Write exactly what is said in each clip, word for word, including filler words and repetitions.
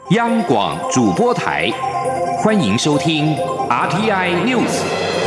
央广主播台，欢迎收听 R T I News。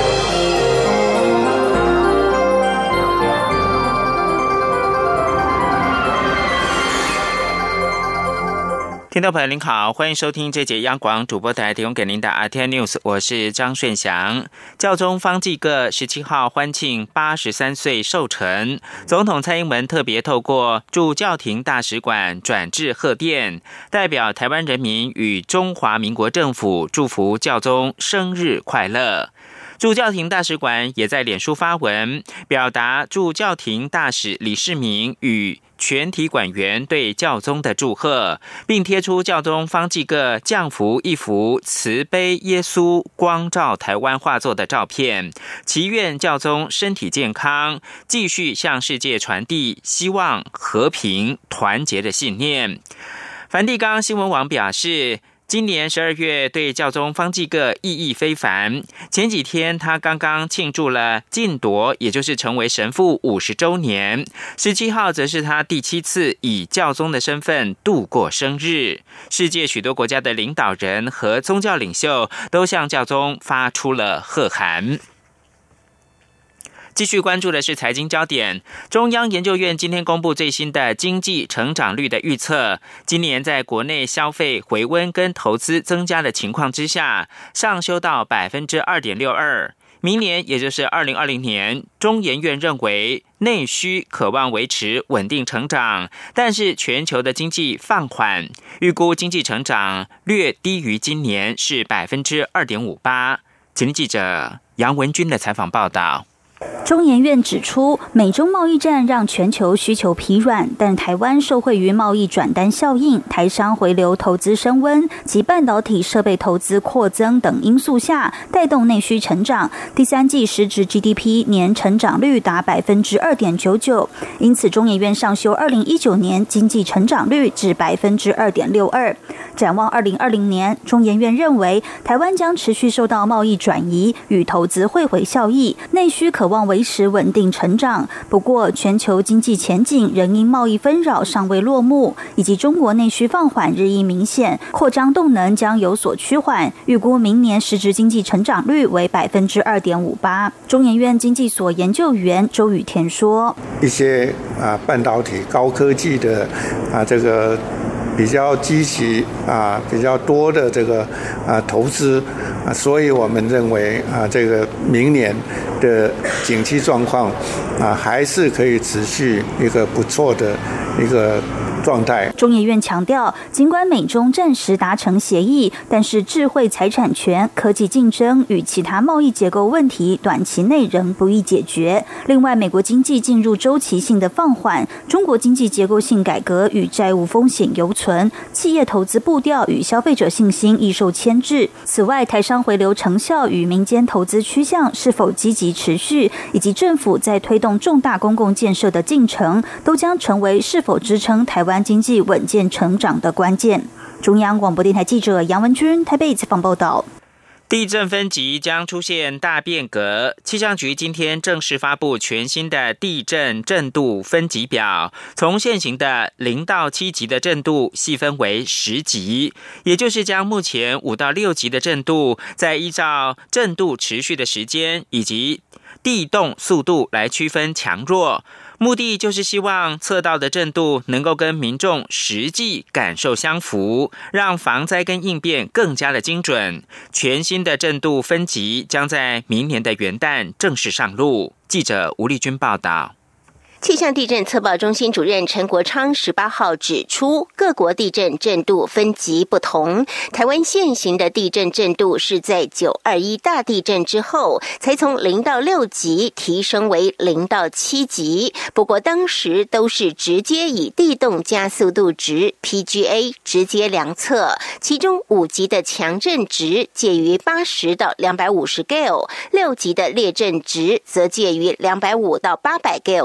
听众朋友您好，欢迎收听这节央广主播台提供给您的 R T I News， 我是张顺祥。教宗方济各十七号欢庆八十三岁寿辰，总统蔡英文特别透过驻教廷大使馆转致贺电，代表台湾人民与中华民国政府祝福教宗生日快乐。驻教廷大使馆也在脸书发文，表达驻教廷大使李世民与全体馆员对教宗的祝贺，并贴出教宗方济各降服一幅慈悲耶稣光照台湾画作的照片，祈愿教宗身体健康，继续向世界传递希望、和平、团结的信念。梵蒂冈新闻网表示，今年十二月对教宗方济各意义非凡。前几天他刚刚庆祝了晋铎，也就是成为神父五十周年。十七号则是他第七次以教宗的身份度过生日。世界许多国家的领导人和宗教领袖都向教宗发出了贺函。继续关注的是财经焦点。中央研究院今天公布最新的经济成长率的预测，今年在国内消费回温跟投资增加的情况之下，上修到 百分之二点六二。 明年也就是二零二零年，中研院认为内需可望维持稳定成长，但是全球的经济放缓，预估经济成长略低于今年，是 百分之二点五八。 请听记者杨文君的采访报道。 中研院指出，美中贸易战让全球需求疲软，但台湾受惠于贸易转单效应、台商回流投资升温及半导体设备投资扩增等因素下，带动内需成长。第三季实质 G D P 年成长率达 百分之二点九九， 因此中研院上修二零一九年经济成长率至 百分之二点六二。展望二零二零年，中研院认为台湾将持续受到贸易转移与投资汇回效益，内需可望维持稳定成长。不过，全球经济前景仍因贸易纷扰尚未落幕，以及中国内需放缓日益明显，扩张动能将有所趋缓。预估明年实质经济成长率为 百分之二点五八。中研院经济所研究员周宇田说：“ 一些啊半导体高科技的啊这个。”比较积极啊，比较多的这个啊投资啊，所以我们认为啊，这个明年的景气状况啊，还是可以持续一个不错的一个状态。 中研院强调，尽管美中暂时达成协议，但是智慧财产权、科技竞争与其他贸易结构问题短期内仍不易解决。另外，美国经济进入周期性的放缓，中国经济结构性改革与债务风险犹存，企业投资步调与消费者信心易受牵制。此外，台商回流成效与民间投资趋向是否积极持续，以及政府在推动重大公共建设的进程，都将成为是否支撑台湾经济稳健成长的关键。中央广播电台记者杨文君台北采访报道。 地震分级将出现大变革，气象局今天正式发布全新的地震震度分级表，从现行的零到七级的震度细分为十级，也就是将目前五到六级的震度，再依照震度持续的时间以及地动速度来区分强弱。目的就是希望测到的震度能够跟民众实际感受相符，让防灾跟应变更加的精准。全新的震度分级将在明年的元旦正式上路。记者吴丽君报道。 气象地震测报中心主任陈国昌十八号指出，各国地震震度分级不同。台湾现行的地震震度是在九二一大地震之后，才从零到六级提升为零到七级。不过当时都是直接以地动加速度值 P G A 直接量测，其中五级的强震值介于八十到两百五十 Gale， 六级的烈震值则介于两百五到八百 Gale 之间。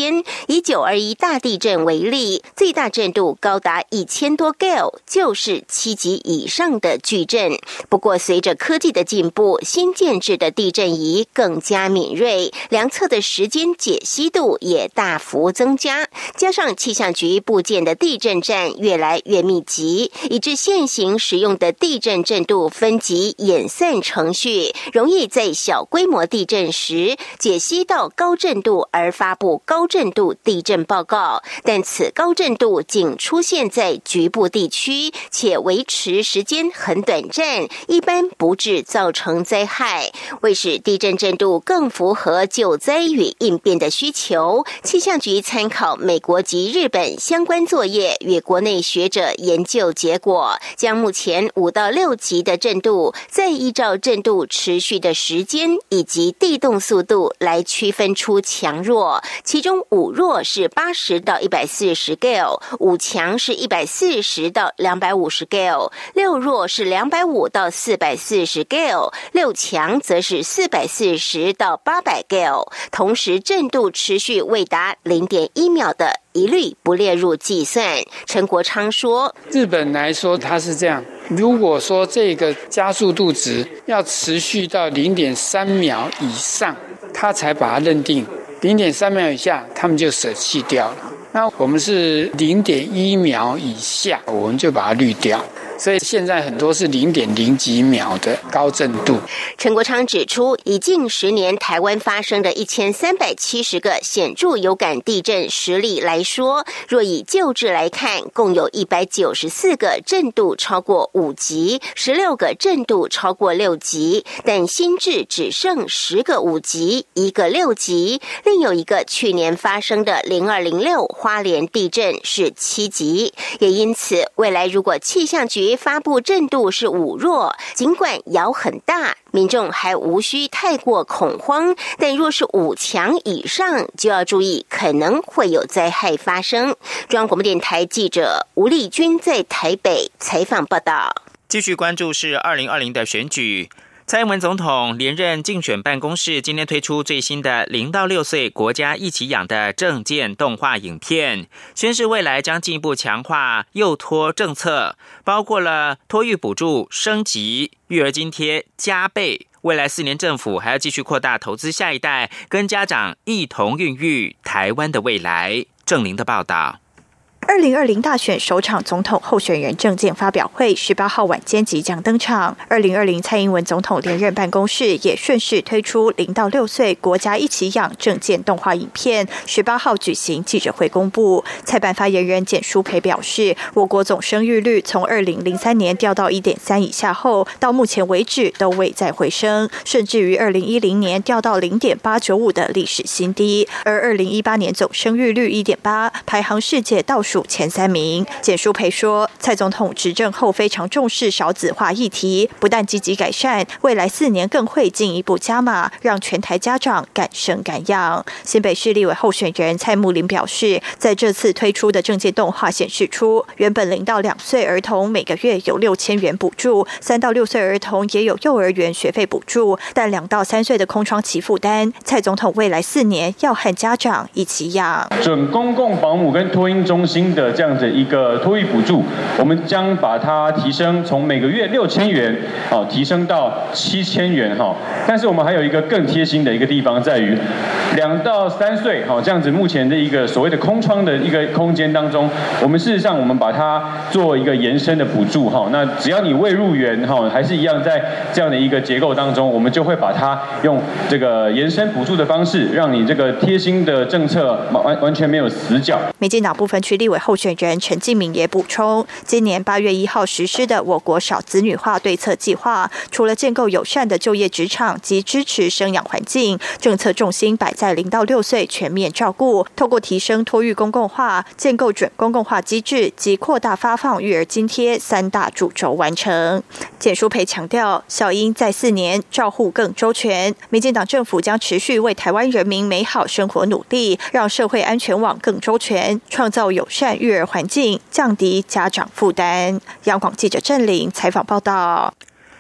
间。以九二一大地震为例，最大震度高达一千多 Gale， 就是七级以上的巨震。不过，随着科技的进步，新建制的地震仪更加敏锐，量测的时间解析度也大幅增加。加上气象局布建的地震站越来越密集，以致现行使用的地震震度分级演算程序，容易在小规模地震时解析到高震度而发布高震度地震报告，但此高震度仅出现在局部地区，且维持时间很短暂，一般不致造成灾害。为使地震震度更符合救灾与应变的需求，气象局参考美国及日本相关作业与国内学者研究结果，将目前五到六级的震度，再依照震度持续的时间以及地动速度来区分出强弱。其中五弱是八十到一百四十 Gale， 五强是一百四十到两百五十 Gale， 六弱是两百五到四百四十 Gale， 六强则是四百四十到八百 Gale。同时，震度持续未达 零点一秒的一律不列入计算。陈国昌说， 日本来说它是这样，如果说这个加速度值要持续到 零点三秒以上，他才把它认定， 零点三秒以下他们就舍弃掉了。那我们是 零点一秒以下，我们就把它滤掉。所以现在很多是 零点零几秒的高震度。 陈国昌指出，以近十年台湾发生的一千三百七十个显著有感地震实例来说，若以旧制来看，共有一百九十四个震度超过五级，十六个震度超过六级，但新制只剩十个五级，一个六级，另有一个去年发生的零二零六花莲地震是七级。也因此，未来如果气象局发布震度是五弱，尽管摇很大，民众还无需太过恐慌，但若是五强以上，就要注意可能会有灾害发生。中央广播电台记者吴丽君在台北采访报道。 继续关注是二零二零的选举。蔡英文总统连任竞选办公室今天推出最新的零到六岁国家一起养的政见动画影片，宣示未来将进一步强化幼托政策，包括了托育补助升级、育儿津贴加倍。未来四年政府还要继续扩大投资下一代，跟家长一同孕育台湾的未来。郑玲的报道。 二零二零大选首场总统候选人政见发表会十八号晚间即将登场。二零二零蔡英文总统连任办公室也顺势推出零到六岁国家一起养政见动画影片，十八号举行记者会公布。蔡办发言人简舒培表示，我国总生育率从二零零三年掉到 一点三 以下后，到目前为止都未再回升，甚至于二零一零年掉到 零点八九五 的历史新低，而二零一八年总生育率 一点八， 排行世界倒数前三名。简舒培说，蔡总统执政后非常重视少子化议题，不但积极改善，未来四年更会进一步加码，让全台家长敢生敢养。新北市立委候选人蔡慕林表示，在这次推出的政见动画显示出，原本零到两岁儿童每个月有六千元补助，三到六岁儿童也有幼儿园学费补助，但两到三岁的空窗期负担，蔡总统未来四年要和家长一起养。 准公共保姆跟托婴中心的这样子一个托育补助，我们将把它提升，从每个月六千元哦提升到七千元哈。但是我们还有一个更贴心的一个地方，在于两到三岁哈这样子目前的一个所谓的空窗的一个空间当中，我们事实上我们把它做一个延伸的补助哈。那只要你未入园哈，还是一样在这样的一个结构当中，我们就会把它用这个延伸补助的方式，让你这个贴心的政策完完全没有死角。 民进党部分区立委候选人陈敬明也补充，今年八月一号实施的我国少子女化对策计划，除了建构友善的就业职场及支持生养环境，政策重心摆在零到六岁全面照顾，透过提升托育公共化、建构准公共化机制及扩大发放育儿津贴三大主轴完成。简舒培强调，小英在四年照护更周全，民进党政府将持续为台湾人民美好生活努力，让社会安全网更周全，创造友善育儿环境，降低家长负担。央广记者郑玲采访报道。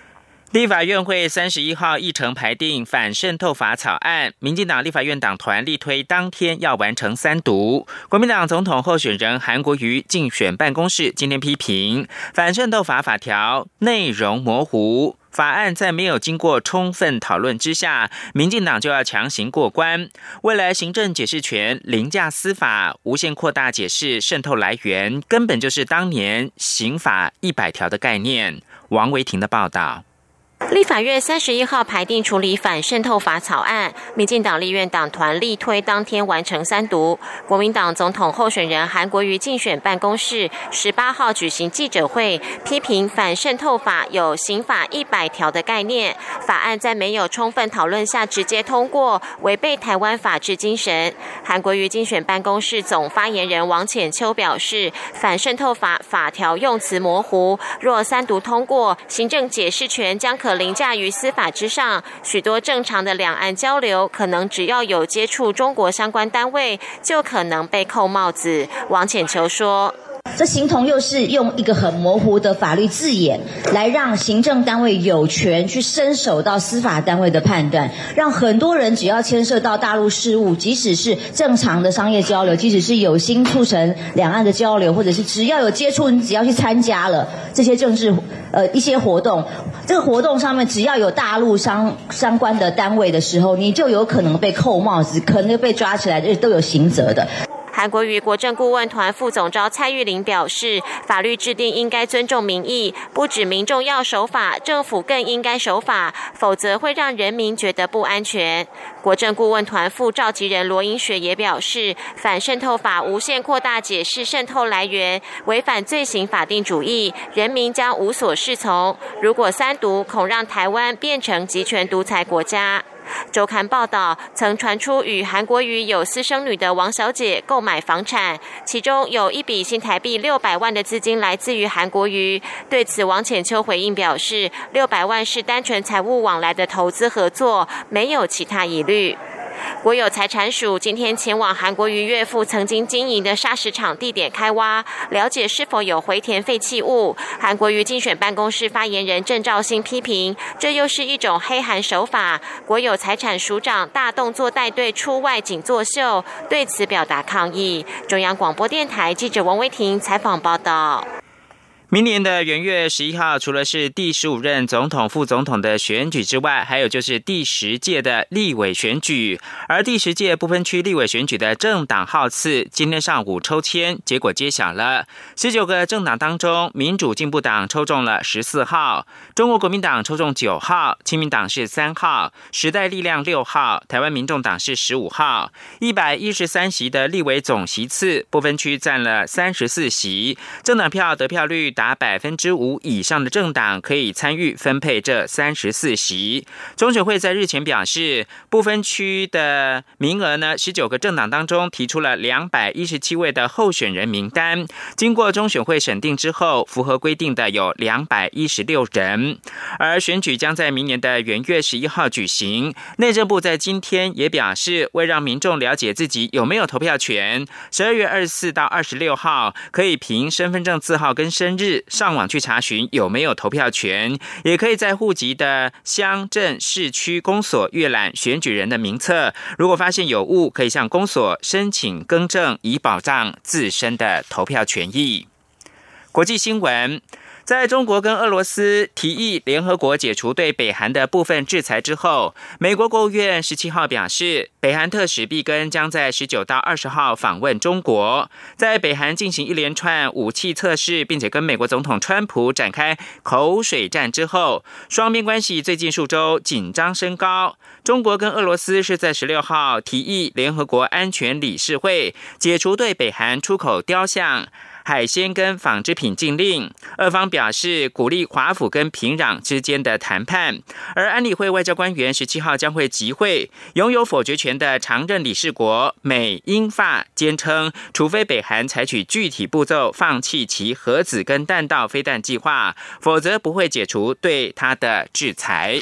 立法院会三十一号议程排定反渗透法草案，民进党立法院党团力推当天要完成三读。国民党总统候选人韩国瑜竞选办公室今天批评反渗透法法条内容模糊，法案在没有经过充分讨论之下，民进党就要强行过关。未来行政解释权凌驾司法，无限扩大解释渗透来源，根本就是当年刑法一百条的概念。王维婷的报道。 立法院三十一号排定处理反渗透法草案，民进党立院党团力推当天完成三读。国民党总统候选人韩国瑜竞选办公室十八号举行记者会，批评反渗透法有刑法一百条的概念，法案在没有充分讨论下直接通过，违背台湾法治精神。韩国瑜竞选办公室总发言人王浅秋表示，反渗透法法条用词模糊，若三读通过，行政解释权将可凌驾于司法之上，许多正常的两岸交流，可能只要有接触中国相关单位，就可能被扣帽子。王浅秋说， 这形同又是用一个很模糊的法律字眼来让行政单位有权去伸手到司法单位的判断，让很多人只要牵涉到大陆事务，即使是正常的商业交流，即使是有心促成两岸的交流，或者是只要有接触，你只要去参加了这些政治呃一些活动，这个活动上面只要有大陆相相关的单位的时候，你就有可能被扣帽子，可能被抓起来，都有刑责的。 韩国瑜国政顾问团副总召蔡玉玲表示，法律制定应该尊重民意，不止民众要守法，政府更应该守法，否则会让人民觉得不安全。国政顾问团副召集人罗英雪也表示，反渗透法无限扩大解释渗透来源，违反罪行法定主义，人民将无所适从。如果三读，恐让台湾变成集权独裁国家。周刊报道，曾传出与韩国瑜有私生女的王小姐购买房产，其中有一笔新台币六百万的资金来自于韩国瑜。对此，王浅秋回应表示，六百万是单纯财务往来的投资合作，没有其他疑虑。国有财产署今天前往韩国瑜岳父曾经经营的砂石场地点开挖，了解是否有回填废弃物。韩国瑜竞选办公室发言人郑兆兴批评，这又是一种黑函手法。国有财产署长大动作带队出外景作秀，对此表达抗议。中央广播电台记者王威婷采访报道。 明年的元月十一号，除了是第十五任总统、副总统的选举之外，还有就是第十届的立委选举。而第十届不分区立委选举的政党号次，今天上午抽签，结果揭晓了。十九个政党当中，民主进步党抽中了十四号，中国国民党抽中九号，亲民党是三号，时代力量六号，台湾民众党是十五号。一百一十三席的立委总席次，不分区占了三十四席，政党票得票率达百分之五以上的政党可以参与分配这三十四席。中选会在日前表示，不分区的名额呢，十九个政党当中提出了两百一十七位的候选人名单，经过中选会审定之后，符合规定的有两百一十六人。而选举将在明年的元月十一号举行。内政部在今天也表示，为让民众了解自己有没有投票权，十二月二十四到二十六号可以凭身份证字号跟生日上网去查询有没有投票权，也可以在户籍的乡镇市区公所阅览选举人的名册，如果发现有误，可以向公所申请更正，以保障自身的投票权益。国际新闻，在中国跟俄罗斯提议联合国解除对北韩的部分制裁之后，美国国务院十七号表示，北韩特使毕根将在十九到二十号访问中国，在北韩进行一连串武器测试，并且跟美国总统川普展开口水战之后，双边关系最近数周紧张升高。中国跟俄罗斯是在十六号提议联合国安全理事会解除对北韩出口雕像、海鲜跟纺织品禁令，俄方表示鼓励华府跟平壤之间的谈判。而安理会外交官员十七号将会集会，拥有否决权的常任理事国美、英、法坚称，除非北韩采取具体步骤放弃其核子跟弹道飞弹计划，否则不会解除对它的制裁。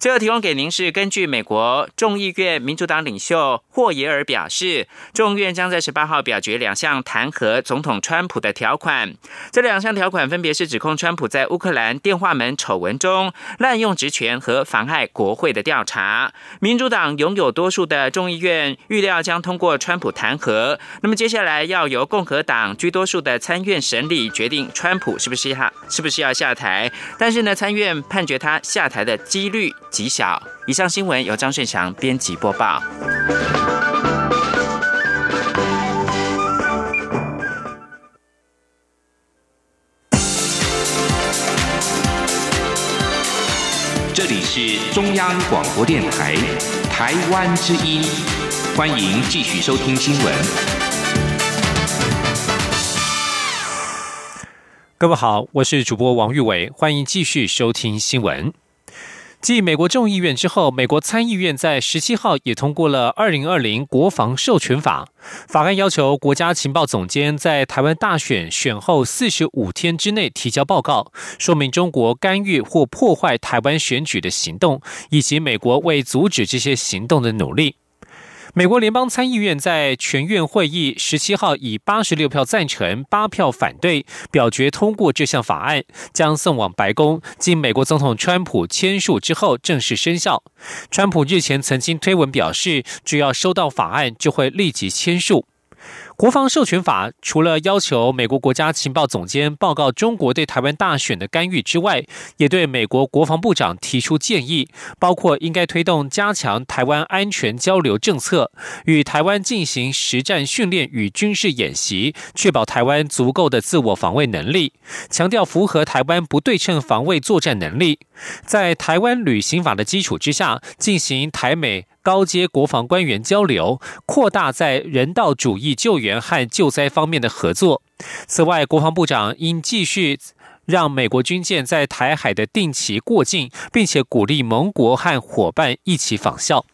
最后提供给您是根据美国众议院民主党领袖霍耶尔表示，众议院将在十八号表决两项弹劾总统川普的条款。这两项条款分别是指控川普在乌克兰电话门丑闻中滥用职权和妨碍国会的调查。民主党拥有多数的众议院预料将通过川普弹劾，那么接下来要由共和党居多数的参院审理决定川普是不是要是不是要下台，但是呢，参院判决他下台的几率极小。以上新闻由张顺祥编辑播报。 这里是中央广播电台台湾之音，欢迎继续收听新闻。 各位好，我是主播王玉伟，欢迎继续收听新闻。继美国众议院之后，美国参议院在十七号也通过了二零二零国防授权法。法案要求国家情报总监在台湾大选选后四十五天之内提交报告，说明中国干预或破坏台湾选举的行动，以及美国为阻止这些行动的努力。美国联邦参议院在全院会议十七号以八十六票赞成、八票反对表决通过这项法案，将送往白宫，经美国总统川普签署之后正式生效。川普日前曾经推文表示，只要收到法案就会立即签署。国防授权法除了要求美国国家情报总监报告中国对台湾大选的干预之外，也对美国国防部长提出建议，包括应该推动加强台湾安全交流政策，与台湾进行实战训练与军事演习，确保台湾足够的自我防卫能力，强调符合台湾不对称防卫作战能力，在台湾旅行法的基础之下，进行台美高阶国防官员交流，扩大在人道主义救援和救灾方面的合作。此外，国防部长应继续让美国军舰在台海的定期过境，并且鼓励盟国和伙伴一起仿效。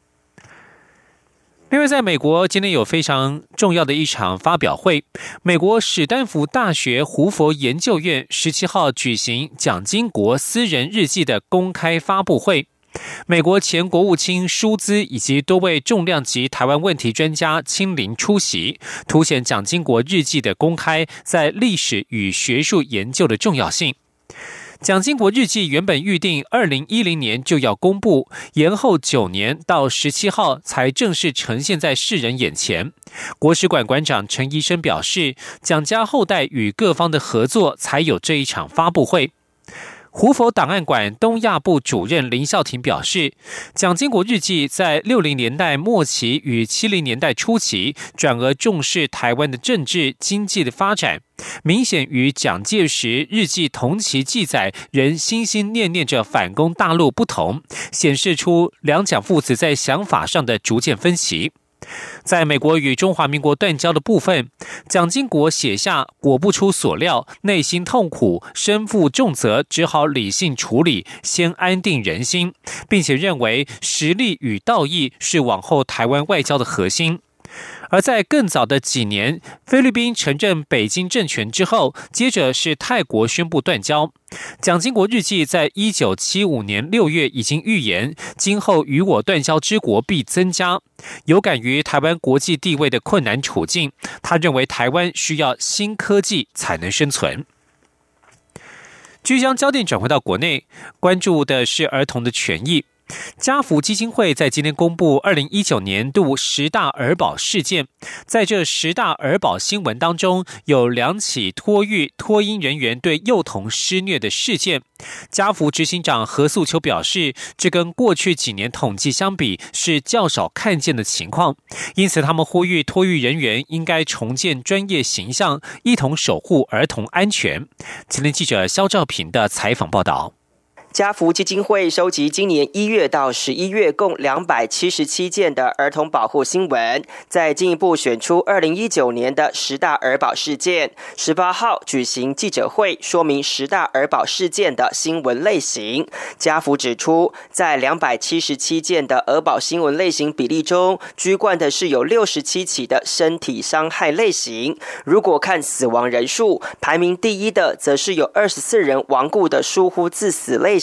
另外，在美国今天有非常重要的一场发表会，美国史丹福大学胡佛研究院十七号举行蒋经国私人日记的公开发布会。美国前国务卿舒兹以及多位重量级台湾问题专家亲临出席，凸显蒋经国日记的公开在历史与学术研究的重要性。蒋经国日记原本预定二零一零年就要公布，延后九年到十七号才正式呈现在世人眼前。国史馆馆长陈宜生表示，蒋家后代与各方的合作才有这一场发布会。胡佛档案馆东亚部主任林孝廷表示，蒋经国日记在六零年代末期与七零年代初期转而重视台湾的政治经济的发展，明显与蒋介石日记同期记载人心心念念着反攻大陆不同，显示出两蒋父子在想法上的逐渐分歧。在美国与中华民国断交的部分，蒋经国写下果不出所料，内心痛苦，身负重责，只好理性处理，先安定人心，并且认为实力与道义是往后台湾外交的核心。而在更早的几年，菲律宾承认北京政权之后，接着是泰国宣布断交。蒋经国日记在一九七五年六月已经预言，今后与我断交之国必增加。有感于台湾国际地位的困难处境，他认为台湾需要新科技才能生存。继续将焦点转回到国内，关注的是儿童的权益。家福基金会在今天公布二零一九年度十大儿保事件，在这十大儿保新闻当中，有两起托育托婴人员对幼童施虐的事件。家福执行长何素秋表示，这跟过去几年统计相比是较少看见的情况，因此他们呼吁托育人员应该重建专业形象，一同守护儿童安全。前天记者肖兆平的采访报道。 家福基金会收集今年一月到十一月共两百七十七件的儿童保护新闻，再进一步选出二零一九年的十大儿保事件。十八号举行记者会，说明十大儿保事件的新闻类型。家福指出，在两百七十七件的儿保新闻类型比例中，居冠的是有六十七起的身体伤害类型。如果看死亡人数，排名第一的则是有二十四人亡故的疏忽致死类型。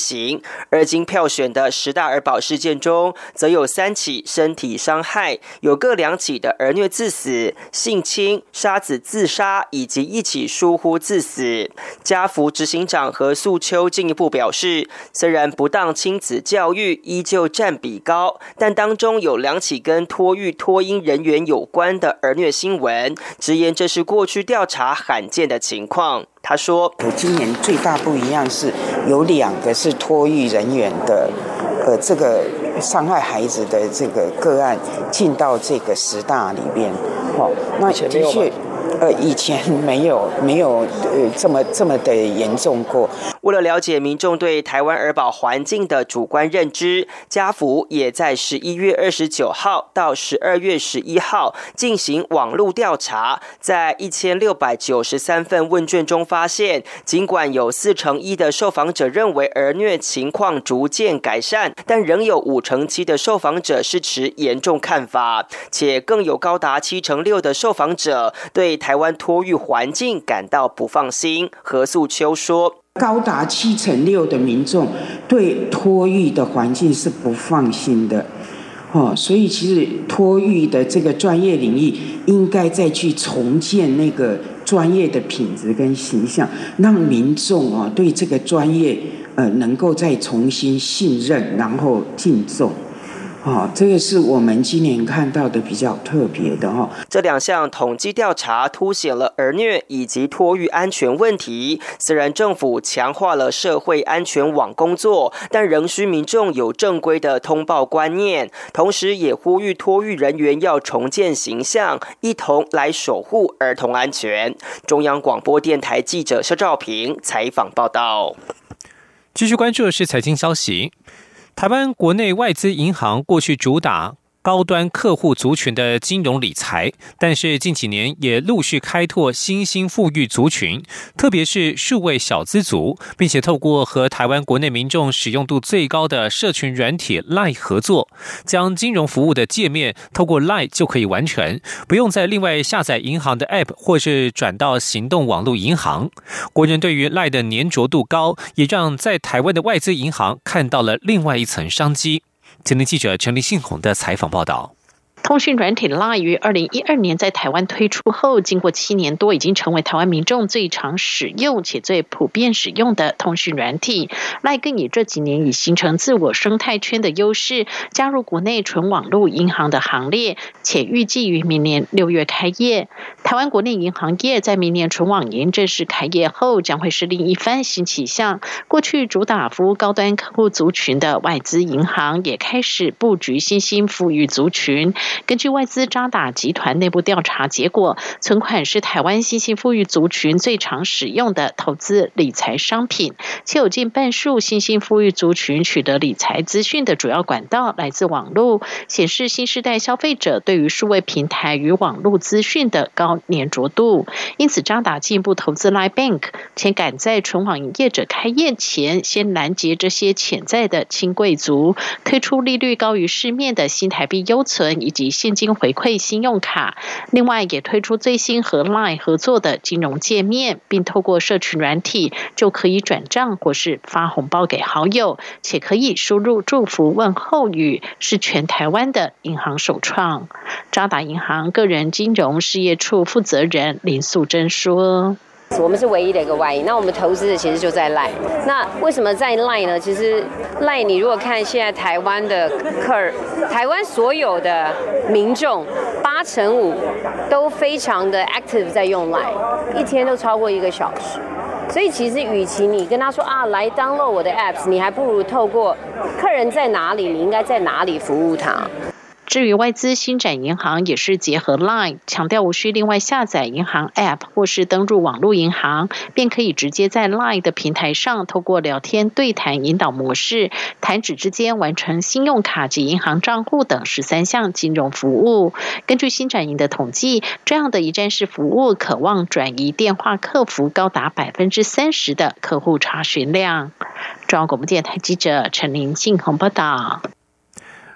刑。而经票选的十大儿保事件中，则有三起身体伤害，有各两起的儿虐致死、性侵、杀子自杀以及一起疏忽致死。家福执行长何素秋进一步表示，虽然不当亲子教育依旧占比高，但当中有两起跟托育托婴人员有关的儿虐新闻，直言这是过去调查罕见的情况。他说， 我今年最大不一样是有两个是托育人员的呃，这个伤害孩子的这个个案进到这个十大里边，哦，那的确，呃，以前没有没有呃这么这么的严重过。 为了了解民众对台湾儿保环境的主观认知，家福也在十一月二十九号到十二月十一号进行网络调查，在一千六百九十三份问卷中发现，尽管有四成一的受访者认为儿虐情况逐渐改善，但仍有五成七的受访者是持严重看法，且更有高达七成六的受访者对台湾托育环境感到不放心。何素秋说， 高达七成六的民众对托育的环境是不放心的，哦，所以其实托育的这个专业领域应该再去重建那个专业的品质跟形象，让民众啊对这个专业呃能够再重新信任，然后敬重。哦，这个是我们今年看到的比较特别的哦。 这两项统计调查凸显了儿虐以及托育安全问题。虽然政府强化了社会安全网工作，但仍需民众有正规的通报观念，同时也呼吁托育人员要重建形象，一同来守护儿童安全。中央广播电台记者肖兆平采访报道。 继续关注的是财经消息。台湾国内外资银行过去主打高端客户族群的金融理财，但是近几年也陆续开拓新兴富裕族群，特别是数位小资族，并且透过和台湾国内民众使用度最高的社群软体 LINE 合作，将金融服务的界面透过 LINE 就可以完成，不用再另外下载银行的 App 或是转到行动网络银行。国人对于 LINE 的粘着度高，也让在台湾的外资银行看到了另外一层商机。前天记者陈立信宏的采访报道。 通讯软体 LINE 于二零一二年在台湾推出后，经过七年多，已经成为台湾民众最常使用且最普遍使用的通讯软体。LINE 更以这几年已形成自我生态圈的优势，加入国内纯网络银行的行列，且预计于明年六月开业。台湾国内银行业在明年纯网银正式开业后，将会是另一番新气象。过去主打服务高端客户族群的外资银行，也开始布局新兴富裕族群。根据外资渣打集团内部调查结果，存款是台湾新兴富裕族群最常使用的投资理财商品，且有近半数新兴富裕族群取得理财资讯的主要管道来自网络，显示新世代消费者对于数位平台与网络资讯的高粘着度。因此渣打进一步投资 LINE Bank， 且赶在纯网营业者开业前先拦截这些潜在的轻贵族，推出利率高于市面的新台币优存以及现金回馈信用卡，另外也推出最新和 LINE 合作的金融界面，并透过社群软体就可以转账或是发红包给好友，且可以输入祝福问候语，是全台湾的银行首创。渣打银行个人金融事业处负责人林素贞说， 我们是唯一的一个外银，那我们投资的其实就在 LINE。那为什么在 LINE 呢？其实 LINE 你如果看现在台湾的客人，台湾所有的民众八成五都非常的 active 在用 LINE， 一天都超过一个小时。所以其实与其你跟他说啊来 download 我的 apps， 你还不如透过客人在哪里，你应该在哪里服务他。 至于外资新展银行也是结合 LINE， 强调无需另外下载银行 App 或是登入网络银行，便可以直接在 LINE 的平台上透过聊天对谈引导模式，弹指之间完成信用卡及银行账户等十三项金融服务。根据新展银的统计，这样的一站式服务可望转移电话客服高达 百分之三十 的客户查询量。中央广播电台记者陈林信宏报道。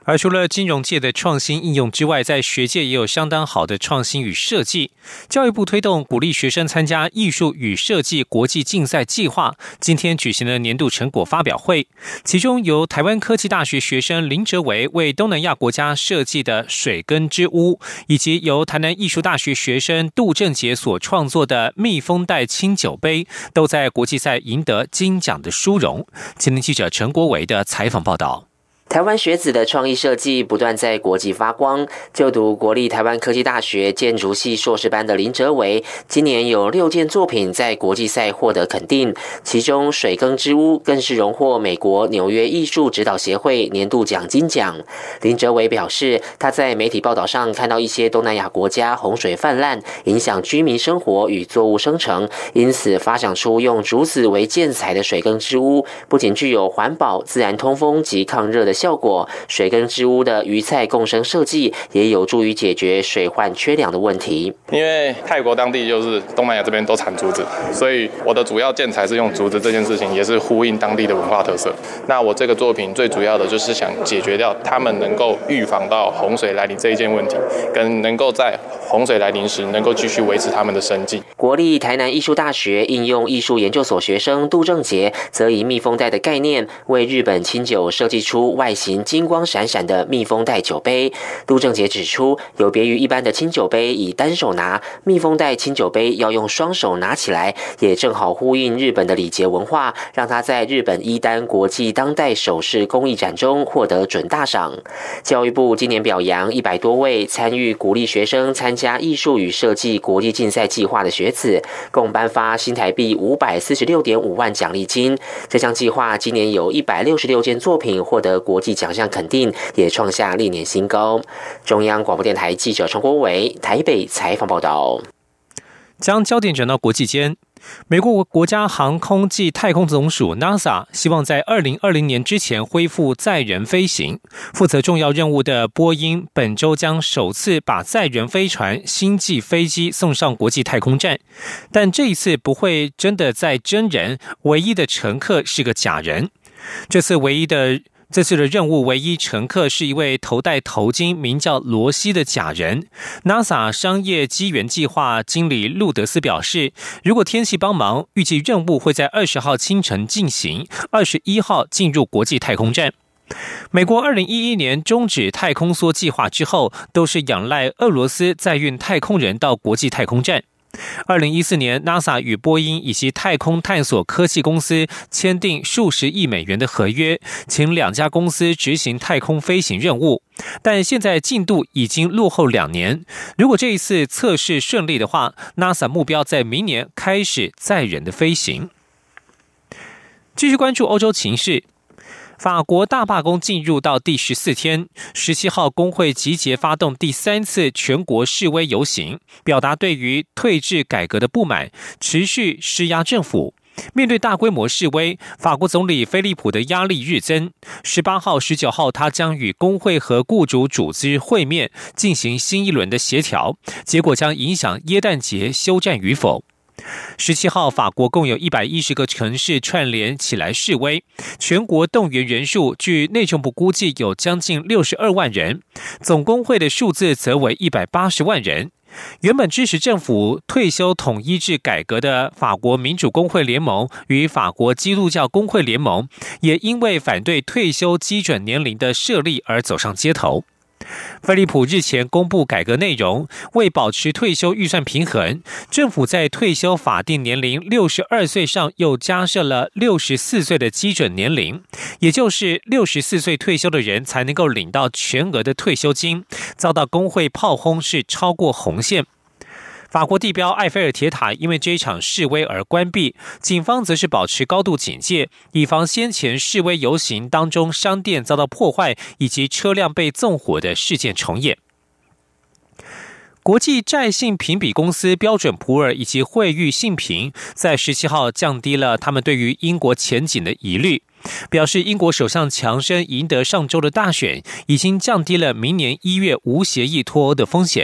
而除了金融界的创新应用之外，在学界也有相当好的创新与设计。教育部推动鼓励学生参加艺术与设计国际竞赛计划，今天举行了年度成果发表会。其中由台湾科技大学学生林哲维为东南亚国家设计的水根之屋，以及由台南艺术大学学生杜正杰所创作的蜜蜂袋清酒杯，都在国际赛赢得金奖的殊荣。前天记者陈国维的采访报道。 台湾学子的创意设计不断在国际发光。就读国立台湾科技大学建筑系硕士班的林哲维，今年有六件作品在国际赛获得肯定，其中水耕之屋更是荣获美国纽约艺术指导协会年度奖金奖。林哲维表示，他在媒体报道上看到一些东南亚国家洪水泛滥，影响居民生活与作物生成，因此发想出用竹子为建材的水耕之屋，不仅具有环保、自然通风及抗热的效果，水耕之屋的鱼菜共生设计也有助于解决水患缺粮的问题。 因为泰国当地就是东南亚这边都产竹子，所以我的主要建材是用竹子，这件事情也是呼应当地的文化特色。那我这个作品最主要的就是想解决掉他们能够预防到洪水来临这一件问题，跟能够在洪水来临时能够继续维持他们的生计。 国立台南艺术大学应用艺术研究所学生杜正杰则以蜜蜂袋的概念，为日本清酒设计出外形金光闪闪的蜜蜂袋酒杯。杜正杰指出，有别于一般的清酒杯以单手拿，蜜蜂袋清酒杯要用双手拿起来，也正好呼应日本的礼节文化，让他在日本伊丹国际当代首饰工艺展中获得准大赏。教育部今年表扬一百多位参与鼓励学生参加艺术与设计国际竞赛计划的学子，共颁发新台币五百四十六点五万奖励金。这项计划今年有一百六十六件作品获得国际奖项肯定，也创下历年新高。中央广播电台记者陈国伟台北采访报道。 将焦点转到国际间，美国国家航空暨太空总署 NASA 希望在二零二零年之前恢复载人飞行。负责重要任务的波音本周将首次把载人飞船星际飞机送上国际太空站，但这一次不会真的载真人，唯一的乘客是个假人。这次唯一的这次的任务唯一乘客是一位头戴头巾、名叫罗西的假人。NASA 商业机缘计划经理路德斯表示，如果天气帮忙，预计任务会在二十号清晨进行，二十一号进入国际太空站。美国二零一一年终止太空梭计划之后，都是仰赖俄罗斯载运太空人到国际太空站。二零一四年 NASA 与波音以及太空探索科技公司签订数十亿美元的合约，请两家公司执行太空飞行任务，但现在进度已经落后两年。如果这一次测试顺利的话， NASA 目标在明年开始载人的飞行。继续关注欧洲情势，法国大罢工进入到第十四天，十七号工会集结发动第三次全国示威游行，表达对于退治改革的不满，持续施压政府。面对大规模示威，法国总理菲利普的压力日增。十八号、十九号，他将与工会和雇主组织会面，进行新一轮的协调，结果将影响耶诞节休战与否。十七号，法国共有一百一十个城市串联起来示威，全国动员人数据内政部估计有将近六十二万人，总工会的数字则为一百八十万人。原本支持政府退休统一制改革的法国民主工会联盟与法国基督教工会联盟，也因为反对退休基准年龄的设立而走上街头。菲利普日前公布改革内容，为保持退休预算平衡，政府在退休法定年龄六十二岁上又加设了六十四岁的基准年龄，也就是六十四岁退休的人才能够领到全额的退休金，遭到工会炮轰是超过红线。法国地标埃菲尔铁塔因为这一场示威而关闭，警方则是保持高度警戒，以防先前示威游行当中商店遭到破坏以及车辆被纵火的事件重演。国际债信评比公司标准普尔以及惠誉信评在十七号降低了他们对于英国前景的疑虑，表示英国首相强生赢得上周的大选，已经降低了明年一月无协议脱欧的风险。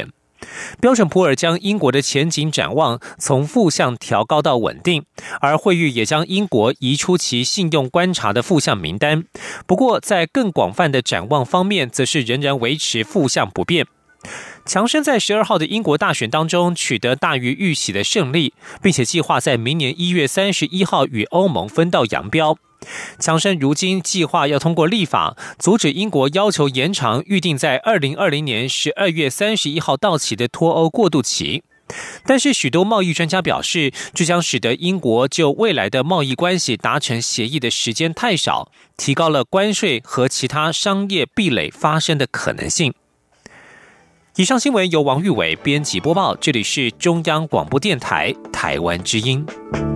标准普尔将英国的前景展望从负向调高到稳定，而惠誉也将英国移出其信用观察的负向名单。不过，在更广泛的展望方面，则是仍然维持负向不变。强生在十二号的英国大选当中取得大于预期的胜利，并且计划在明年一月三十一号与欧盟分道扬镳。强生如今计划要通过立法，阻止英国要求延长预定在二零二零年十二月三十一号到期的脱欧过渡期。但是许多贸易专家表示，这将使得英国就未来的贸易关系达成协议的时间太少，提高了关税和其他商业壁垒发生的可能性。以上新闻由王玉伟编辑播报，这里是中央广播电台台湾之音。